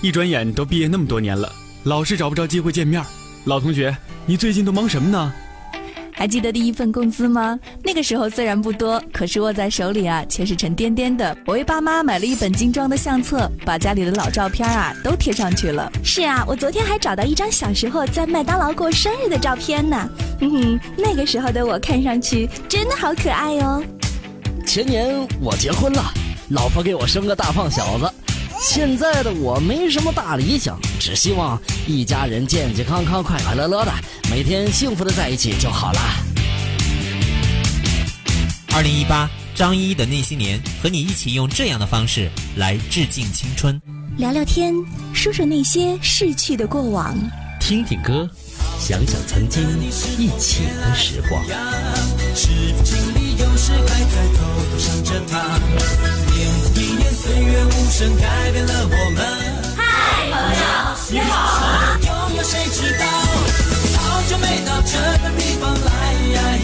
一转眼都毕业那么多年了，老是找不着机会见面。老同学，你最近都忙什么呢？ 还记得第一份工资吗？那个时候虽然不多，可是握在手里啊，却是沉甸甸的。我为爸妈买了一本精装的相册，把家里的老照片啊都贴上去了。 是啊，我昨天还找到一张小时候在麦当劳过生日的照片呢。那个时候的我看上去真的好可爱哦。 前年我结婚了，老婆给我生个大胖小子。现在的我没什么大理想，只希望一家人健健康康、快快乐乐的，每天幸福的在一起就好了。 2018张一的那些年，和你一起用这样的方式来致敬青春， 聊聊天，说说那些逝去的过往， 听听歌，想想曾经一起的时光。 是否经历有时还在偷偷想着他，年复一年，岁月无声改变了我们。 嗨，朋友，你好。 有没有谁知道，好久没到这个地方来。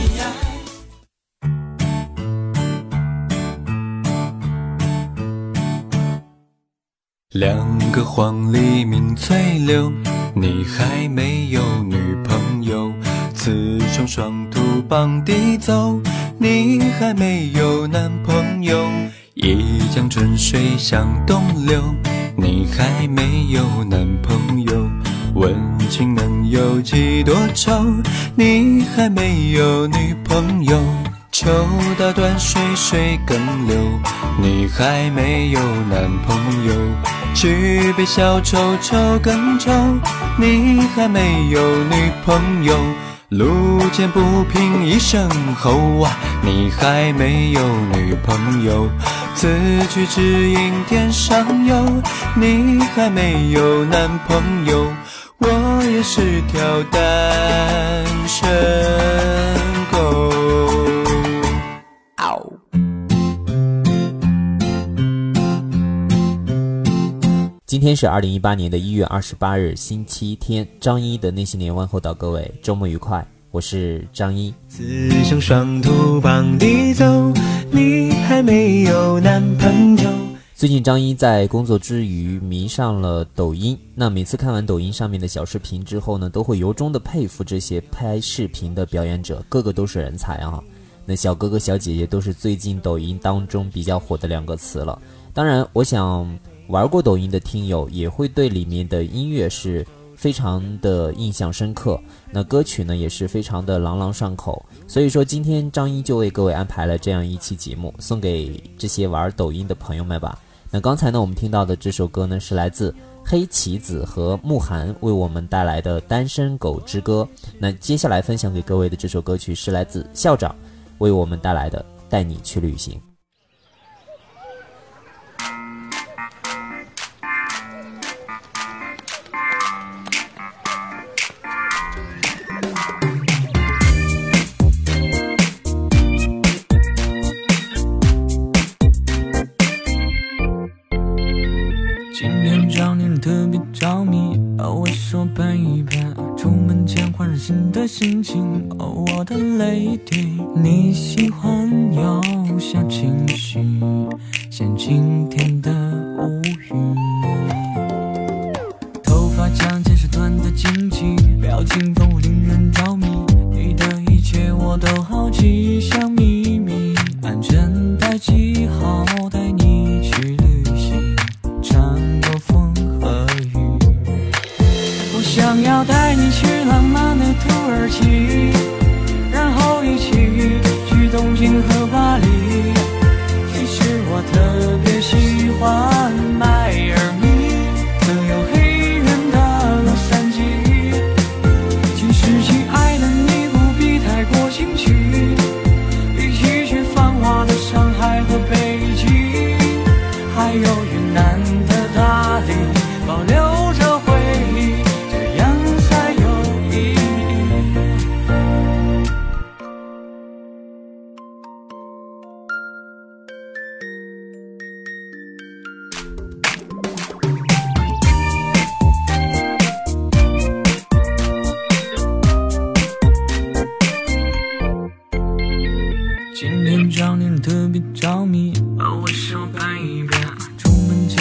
两个黄鹂鸣翠柳，你还没有女朋友。雌雄双兔傍地走，你还没有男朋友。一江春水向东流，你还没有男朋友。问情能有几多愁，你还没有女朋友。秋到断水水更流，你还没有男朋友。举杯消愁愁更愁，你还没有女朋友。路见不平一声吼啊，你还没有女朋友。此去只应天上有，你还没有男朋友。我也是条单身狗。 今天是2018年的1月28日星期天，张一的那些年问候到各位，周末愉快，我是张一。 雌雄双兔傍地走，你还没有男朋友。 最近张一在工作之余迷上了抖音，那每次看完抖音上面的小视频之后呢，都会由衷的佩服这些拍视频的表演者，个个都是人才啊。那小哥哥小姐姐都是最近抖音当中比较火的两个词了。当然我想玩过抖音的听友也会对里面的音乐是非常的印象深刻，那歌曲呢也是非常的朗朗上口，所以说今天张一就为各位安排了这样一期节目，送给这些玩抖音的朋友们吧。那刚才呢我们听到的这首歌呢是来自黑棋子和慕寒为我们带来的单身狗之歌，那接下来分享给各位的这首歌曲是来自校长为我们带来的带你去旅行。 着迷，我说盼一盼，出门前换上新的心情。我的 lady， 你喜欢有小情绪，像今天的无语。头发长见识短的惊奇，表情丰富令人着迷。你的一切我都好奇，像秘密，安全带记号，带你去旅行，穿过风和雨。我想要带你去浪漫的土耳其，然后一起去东京和巴黎。其实我特别喜欢迈阿密，更有黑人的洛杉矶。其实亲爱的你不必太过兴趣，一起去繁华的上海和北京，还有云南的大理，保留着回忆，这样才有意义。今天找你特别着迷，我说盼一盼，出门前换上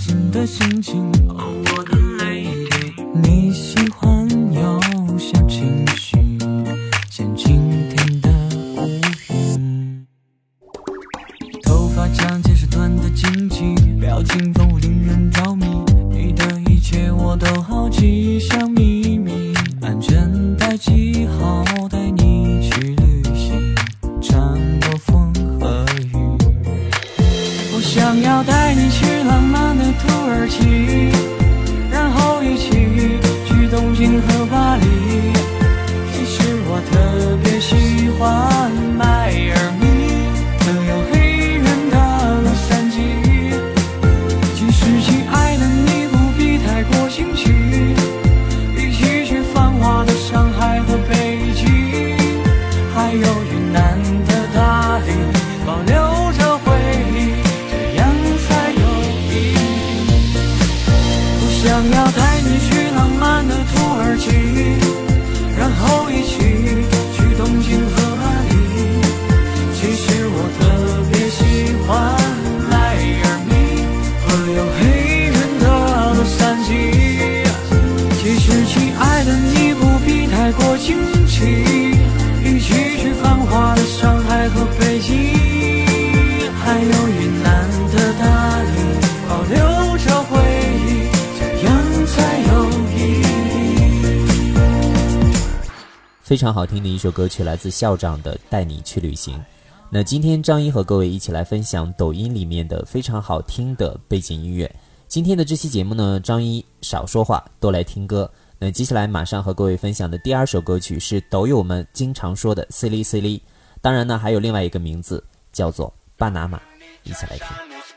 心的心情，我的泪滴。你喜欢有小情绪，像晴天的乌云。头发长见识短的惊奇，表情丰富令人着迷。你的一切我都好奇，像秘密。安全带系好，带你去旅行，穿过风和雨。我想要带你去浪漫的土耳其，然后一起去东京和巴黎。其实我特别喜欢迈阿密，还有黑人的洛杉矶。其实亲爱的你不必太过惊奇，一起去繁华的上海和北京，还有云南的大理，保留着回忆，这样才有意义。我想要带你去浪漫的土耳其，然后一起去东京和巴黎。其实我特别喜欢迈阿密，和有黑人的洛杉矶。其实亲爱的你不必太过惊奇，一起去繁华的上海和北京，还有云南的大理，保留着回忆，这样才有意义。 非常好听的一首歌曲，来自校长的《带你去旅行》。那今天张一和各位一起来分享抖音里面的非常好听的背景音乐。今天的这期节目呢，张一少说话，多来听歌。那接下来马上和各位分享的第二首歌曲是抖友们经常说的 Silly Silly， 当然呢还有另外一个名字叫做巴拿马，一起来听。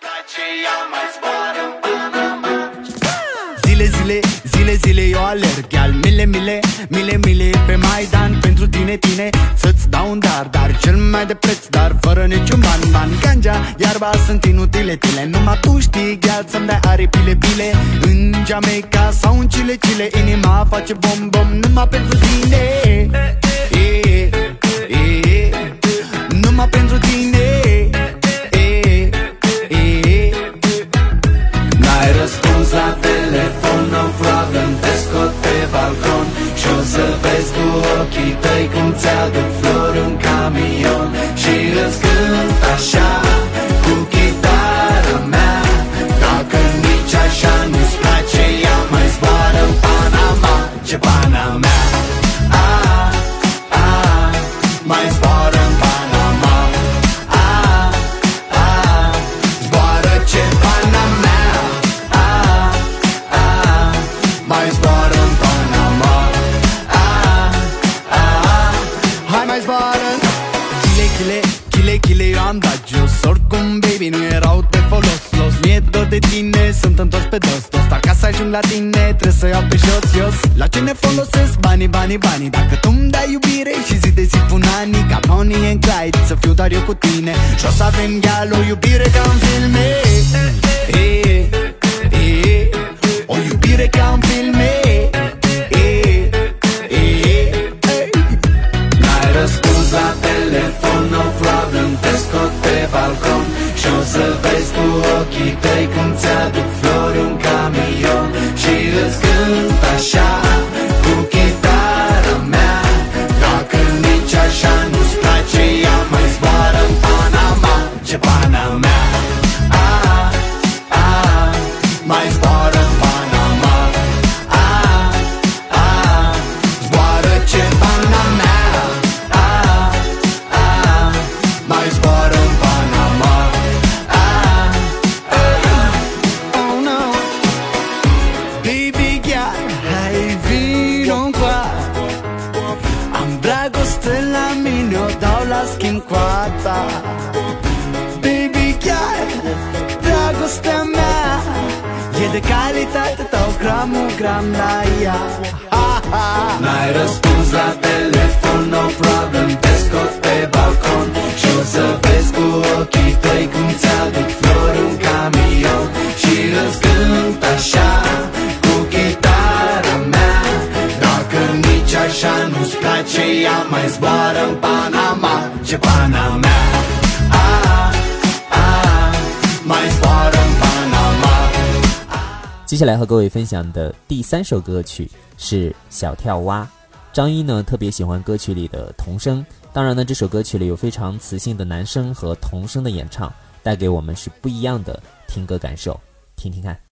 Zile, zile, eu alerg al mile pe Maidan pentru tine, să-ți dau un dar cel mai de preț, dar fără niciun ban. Ganja, iarba sunt inutile, numai tu știi, gheal, să-mi dai aripile. În Jamaica sau în Chile, inima face bom, numai pentru tine. Numai pentru tine. N-ai răspuns la telefon, no problem, te scot pe balcon și o să vezi cu ochii tăi cum ți-aduc flori un camion și îți cânt așa cu chitara mea. Dacă nici așa nu-ți place, ea mai zboară în Panama, ce pana mea. Mai zboară în Panama. Zboară ce pana mea. Mai zboară în Panama. Hai mai zboară. Chile, eu am dat jos. Oricum, baby, nu erau de folos. Mi-e dor de tine, sunt întors pe dos. Dar ca să ajung la tine, trebuie să iau pe jos. La ce ne folosesc banii? Dacă tu-mi dai iubire și zi de zi pun anii, ca Bonnie and Clyde, să fiu doar eu cu tine. Și o să avem gheal, o iubire ca în filme. O iubire ca în filme. N-ai răspuns la telefon, no problem, te scot pe balcon și o să vezi cu ochii tăi cum ți-aduc flori un camion și îți cânt așa cu chitara mea. Dacă nici așa nu-ți place, ea mai zboară în Panama, ce pana mea. Mai zboară în Panama. Zboară ce pana mea. Mai zboară în Panama. Oh no. Baby girl, hai vino-ncoa. Am dragoste la mine, o dau la schimb cu a ta. Baby girl, dragostea mea e de calitate, dau gram la ea. N-ai răspuns la telefon, no problem, te scot pe balcon și o să vezi cu ochii tăi cum ți-aduc flori un camion și îți cânt așa cu chitara mea. Dacă nici așa nu-ți place, ea mai zboară în Panama, ce pana mea. Mai zboară în Panama. 接下来和各位分享的第3首歌曲是小跳蛙。张一呢特别喜欢歌曲里的童声，当然呢这首歌曲里有非常磁性的男声和童声的演唱，带给我们是不一样的听歌感受，听听看。